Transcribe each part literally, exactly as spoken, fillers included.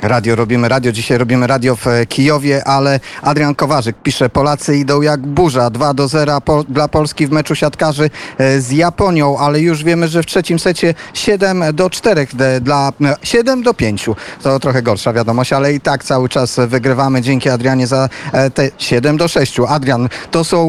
Radio Robimy Radio. Dzisiaj robimy radio w Kijowie, ale Adrian Kowarzyk pisze: Polacy idą jak burza. dwa do zera po, dla Polski w meczu siatkarzy z Japonią, ale już wiemy, że w trzecim secie siedem do czterech dla siedem do pięciu. To trochę gorsza wiadomość, ale i tak cały czas wygrywamy. Dzięki, Adrianie, za te siedem do sześciu. Adrian, to są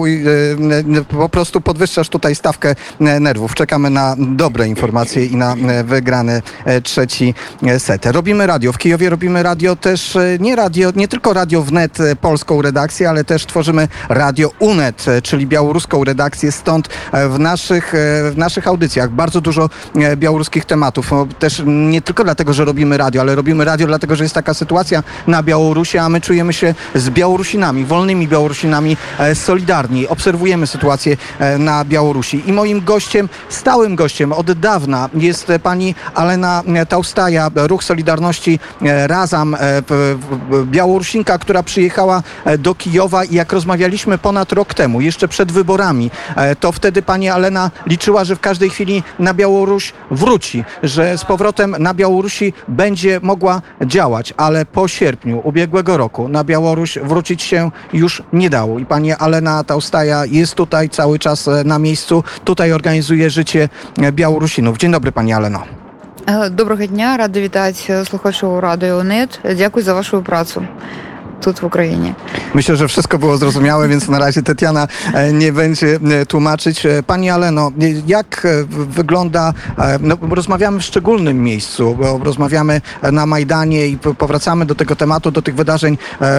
po prostu podwyższasz tutaj stawkę nerwów. Czekamy na dobre informacje i na wygrany trzeci set. Robimy radio w Kijowie. Robimy radio też, nie radio, nie tylko Radio Wnet, polską redakcję, ale też tworzymy Radio Unet, czyli białoruską redakcję. Stąd w naszych, w naszych audycjach bardzo dużo białoruskich tematów. Też nie tylko dlatego, że robimy radio, ale robimy radio dlatego, że jest taka sytuacja na Białorusi, a my czujemy się z Białorusinami, wolnymi Białorusinami solidarni. Obserwujemy sytuację na Białorusi. I moim gościem, stałym gościem od dawna jest pani Alena Taustaja, Ruch Solidarności Razem, Białorusinka, która przyjechała do Kijowa i jak rozmawialiśmy ponad rok temu, jeszcze przed wyborami, to wtedy pani Alena liczyła, że w każdej chwili na Białoruś wróci, że z powrotem na Białorusi będzie mogła działać, ale po sierpniu ubiegłego roku na Białoruś wrócić się już nie dało. I pani Alena Taustaja jest tutaj cały czas na miejscu, tutaj organizuje życie Białorusinów. Dzień dobry, pani Aleno. Доброго дня, рада вітати слухачів Радіо Нет. Дякую за вашу працю тут w Ukrainie. Myślę, że wszystko było zrozumiałe, więc na razie Tetiana nie będzie tłumaczyć. Pani Aleno, jak wygląda, no, rozmawiamy w szczególnym miejscu, bo rozmawiamy na Majdanie i powracamy do tego tematu, do tych wydarzeń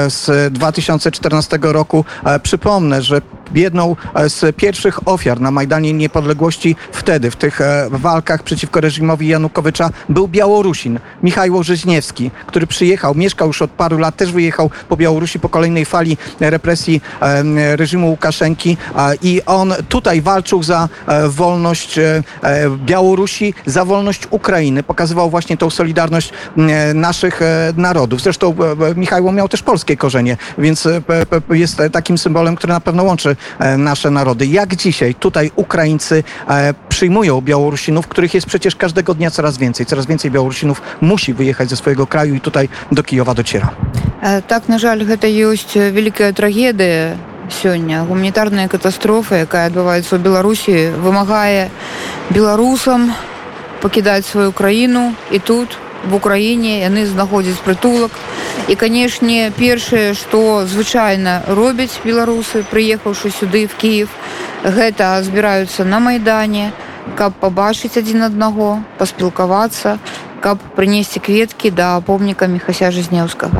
z dwa tysiące czternastego roku. Przypomnę, że jedną z pierwszych ofiar na Majdanie Niepodległości wtedy, w tych walkach przeciwko reżimowi Janukowycza, był Białorusin, Michał Żyźniewski, który przyjechał, mieszkał już od paru lat, też wyjechał po Białorusi po kolejnej fali represji reżimu Łukaszenki i on tutaj walczył za wolność Białorusi, za wolność Ukrainy. Pokazywał właśnie tą solidarność naszych narodów. Zresztą Michał miał też polskie korzenie, więc jest takim symbolem, który na pewno łączy nasze narody. Jak dzisiaj tutaj Ukraińcy przyjmują Białorusinów, których jest przecież każdego dnia coraz więcej. Coraz więcej Białorusinów musi wyjechać ze swojego kraju i tutaj do Kijowa dociera. Так, на жаль, гэта ёсць вялікая трагедыя сёння. Гуманітарная катастрофа, якая адбываецца ў Беларусі, вымагае беларусам пакідаць сваю краіну, і тут, в Украіне, яны знаходзяць прытулак. І, канешне, першае, што звычайна робяць беларусы, прыехаўшы сюды, в Кіев, гэта збіраюцца на Майдане, каб пабачыць адзін аднаго, паспілкавацца, каб прынесці кветкі да помніка Міхася Żyźniewskiego.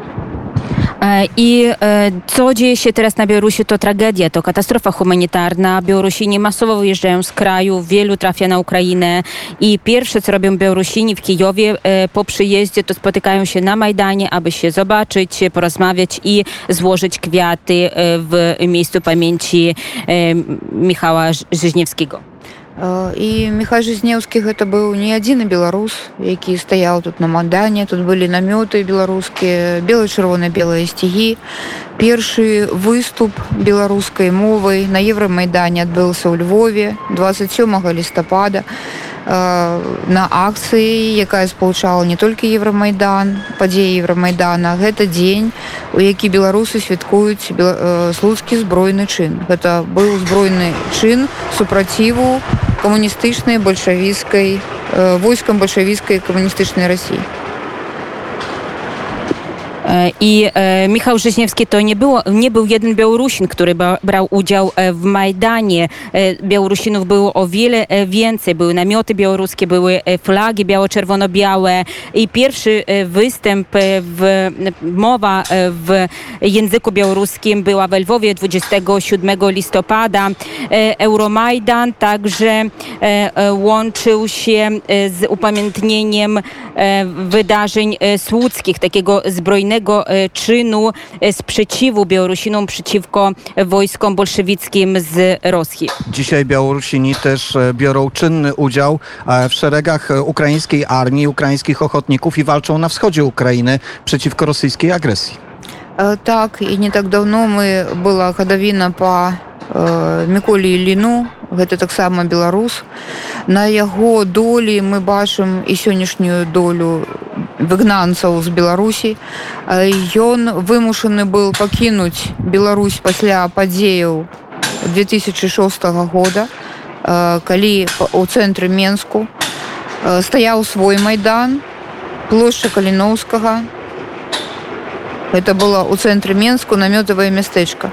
I co dzieje się teraz na Białorusi, to tragedia, to katastrofa humanitarna. Białorusini masowo wyjeżdżają z kraju, wielu trafia na Ukrainę i pierwsze, co robią Białorusini w Kijowie po przyjeździe, to spotykają się na Majdanie, aby się zobaczyć, porozmawiać i złożyć kwiaty w miejscu pamięci Michała Żyźniewskiego. І Міхай Жизнеўскі гэта быў не адзіны беларус, які стаяў тут на Майдане. Тут былі намёты беларускія, бело-чырвона-белыя сцягі. Першы выступ беларускай мовай на Еврамайдане адбыўся ў Львове двадцать сёмага лістапада на акцыі, якая спалучала не толькі Еврамайдан, падзеі Еврамайдана. Гэта дзень, у які беларусы святкуюць слуцкі збройны чын. Гэта быў збройны чын супраціву камуністычнай бальшавіцкай, войскам бальшавіцкай камуністычнай Расіі. I e, Michał Żyźniewski to nie, było, nie był jeden Białorusin, który ba, brał udział w Majdanie. E, Białorusinów było o wiele więcej. Były namioty białoruskie, były flagi biało-czerwono-białe i pierwszy występ, w, mowa w języku białoruskim była we Lwowie dwudziestego siódmego listopada. E, Euromajdan także e, łączył się z upamiętnieniem e, wydarzeń słuckich, takiego zbrojnego czynu sprzeciwu Białorusinom przeciwko wojskom bolszewickim z Rosji. Dzisiaj Białorusini też biorą czynny udział w szeregach ukraińskiej armii, ukraińskich ochotników i walczą na wschodzie Ukrainy przeciwko rosyjskiej agresji. Tak, i nie tak dawno my była гадавіна по Міколі Ілліну, гэта таксама беларус. На яго долі мы бачым і сённяшнюю долю выгнанцаў з Беларусі. Ён вымушаны быў пакінуць Беларусь пасля падзеяў две тысячи шостага года, калі у цэнтры Менску стаяў свой майдан, плошча Каліноўскага. Это было у цэнтры Менску намётавае мястэчка.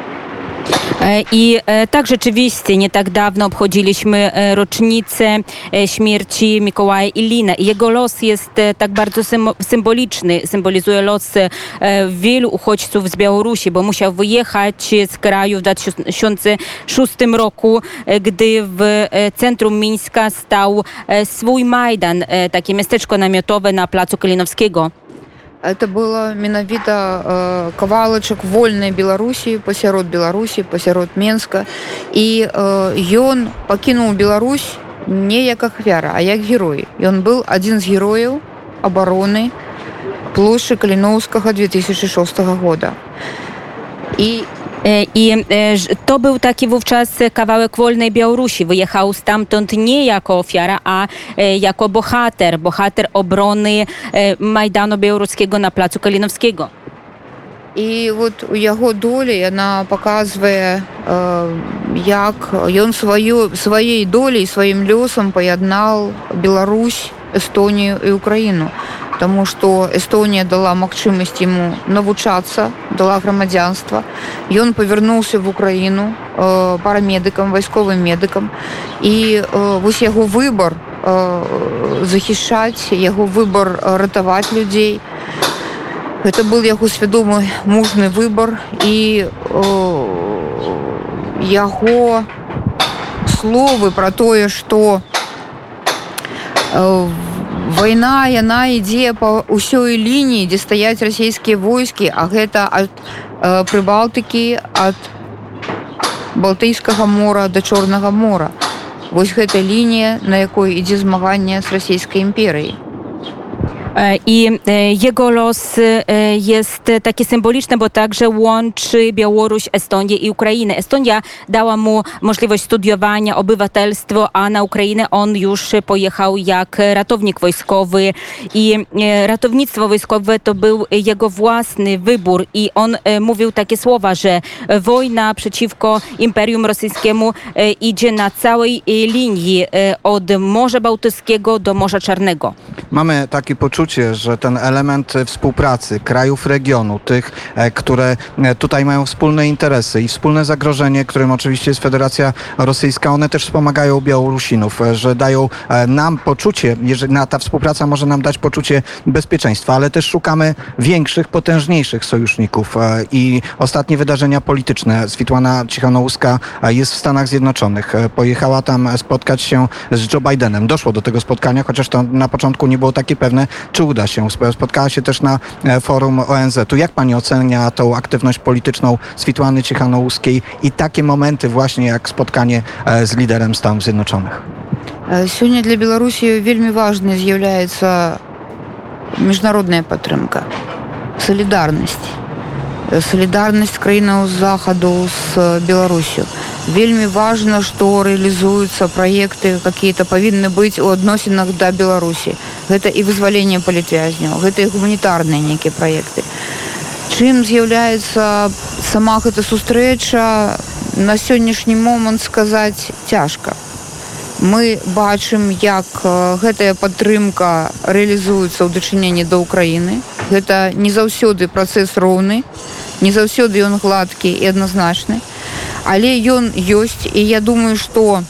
I tak rzeczywiście nie tak dawno obchodziliśmy rocznicę śmierci Mikołaja Ilina. Jego los jest tak bardzo symboliczny, symbolizuje los wielu uchodźców z Białorusi, bo musiał wyjechać z kraju w dwa tysiące szóstym roku, gdy w centrum Mińska stał swój Majdan, takie miasteczko namiotowe na placu Kalinowskiego. Это было менавіта э, кавалачак вольнай Беларусі, пасярод Беларусі, пасярод Менска. І э, ён пакінуў Беларусь не як ахвяра, а як герой. Ён быў адзін з герояў абароны плошчы Каліноўскага две тысячи шостого года. I I to był taki wówczas kawałek wolnej Białorusi. Wyjechał stamtąd nie jako ofiara, a jako bohater. Bohater obrony Majdanu Białoruskiego na placu Kalinowskiego. І от у яго долі яна паказвае, як ён сваю, сваёй доляй, сваім лёсам паяднаў Беларусь, Эстонію і Украіну. Таму што Эстонія дала магчымасць яму навучацца, дала грамадзянства. Ён павярнуўся в Украіну э, парамедыкам, вайсковым медыкам. І э, вось яго выбар э, захішаць, яго выбар ратаваць людзей. Гэта был яго свядомы мужны выбар. І э, яго словы пра тое, што э, вайна, яна ідзе па ўсёй лініі, дзе стаяць расійскія войскі, а гэта ад э, Прыбалтыкі, ад Балтыйскага мора да Чорнага мора. Вось гэта лінія, на якой ідзе змаганне з расійскай імперыяй. I jego los jest taki symboliczny, bo także łączy Białoruś, Estonię i Ukrainę. Estonia dała mu możliwość studiowania, obywatelstwo, a na Ukrainę on już pojechał jak ratownik wojskowy. I ratownictwo wojskowe to był jego własny wybór. I on mówił takie słowa, że wojna przeciwko Imperium Rosyjskiemu idzie na całej linii od Morza Bałtyckiego do Morza Czarnego. Mamy takie poczucie, że ten element współpracy krajów regionu, tych, które tutaj mają wspólne interesy i wspólne zagrożenie, którym oczywiście jest Federacja Rosyjska, one też wspomagają Białorusinów, że dają nam poczucie, jeżeli ta współpraca może nam dać poczucie bezpieczeństwa, ale też szukamy większych, potężniejszych sojuszników. I ostatnie wydarzenia polityczne. Switłana Cichanołuska jest w Stanach Zjednoczonych. Pojechała tam spotkać się z Joe Bidenem. Doszło do tego spotkania, chociaż to na początku nie było takie pewne, czy uda się. Spotkała się też na forum O N Z-u. Jak pani ocenia tą aktywność polityczną Switłany Cichanołuskiej i takie momenty właśnie jak spotkanie z liderem Stanów Zjednoczonych? Сёння для Беларусі вельмі важнай з'яўляецца міжнародная падтрымка, салідарнасць. Салідарнасць краінаў захаду з Беларусю. Вельмі важна, што рэалізуюцца праекты, какие-то павінны быць у адносінах да Беларусі. Гэта і вызваленне палітвязняў, гэта і гуманітарныя нейкія праекты. Чым з'яўляецца сама гэта сустрэча, на сённяшні момант сказаць цяжка. Мы бачым, як гэтая падтрымка рэалізуецца ў дачыненні да Ўкраіны. Гэта не заўсёды працэс роўны, не заўсёды ён гладкі і адназначны. Але ён ёсць, і я думаю, што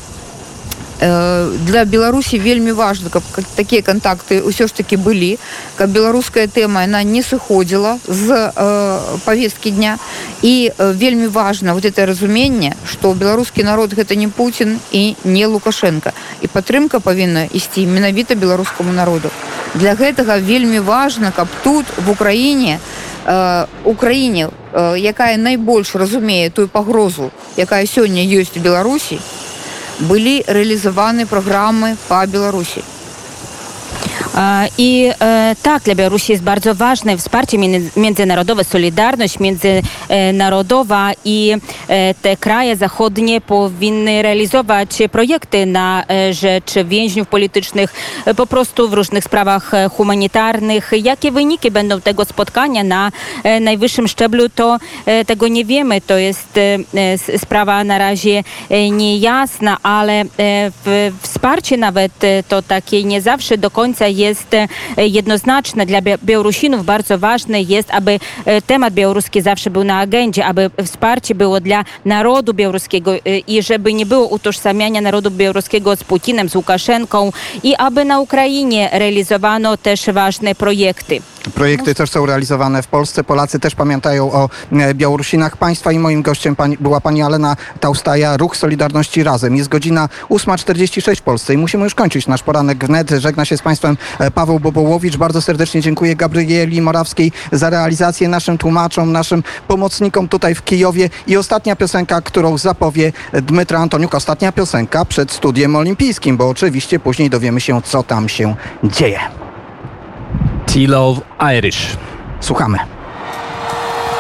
э, для Беларусі вельмі важна, каб такія кантакты ўсё ж такі былі, каб беларуская тэма яна не сыходзіла з э, павесткі дня. І э, вельмі важна вот это разуменне, што беларускі народ гэта не Пуцін і не Лукашенко. І падтрымка павінна ісці менавіта беларускаму народу. Для гэтага вельмі важна, каб тут, в Украіне, Украіне, якая найбольш разумее тую пагрозу, якая сёння ёсць у Беларусі, былі рэалізаваны праграмы па Беларусі. E, I e, tak, dla Białorusi jest bardzo ważne wsparcie między- międzynarodowe, solidarność międzynarodowa i e, te kraje zachodnie powinny realizować projekty na e, rzecz więźniów politycznych, e, po prostu w różnych sprawach e, humanitarnych. Jakie wyniki będą tego spotkania na e, najwyższym szczeblu, to e, tego nie wiemy. To jest e, s- sprawa na razie e, niejasna, ale e, w, wsparcie nawet e, to takie nie zawsze do końca jest e, jednoznaczne. Dla Bia- Białorusinów bardzo ważne jest, aby e, temat białoruski zawsze był na agendzie, aby wsparcie było dla narodu białoruskiego e, i żeby nie było utożsamiania narodu białoruskiego z Putinem, z Łukaszenką i aby na Ukrainie realizowano też ważne projekty. Projekty też są realizowane w Polsce. Polacy też pamiętają o e, Białorusinach państwa i moim gościem pani, była pani Alena Taustaja, Ruch Solidarności Razem. Jest godzina ósma czterdzieści sześć w Polsce i musimy już kończyć nasz poranek wnet. Żegna się z państwem e, Paweł Bobołowicz. Bardzo serdecznie dziękuję Gabrieli Morawskiej za realizację, naszym tłumaczom, naszym pomocnikom tutaj w Kijowie. I ostatnia piosenka, którą zapowie Dmytra Antoniuk. Ostatnia piosenka przed studiem olimpijskim, bo oczywiście później dowiemy się, co tam się dzieje. T-Love Irish. Słuchamy.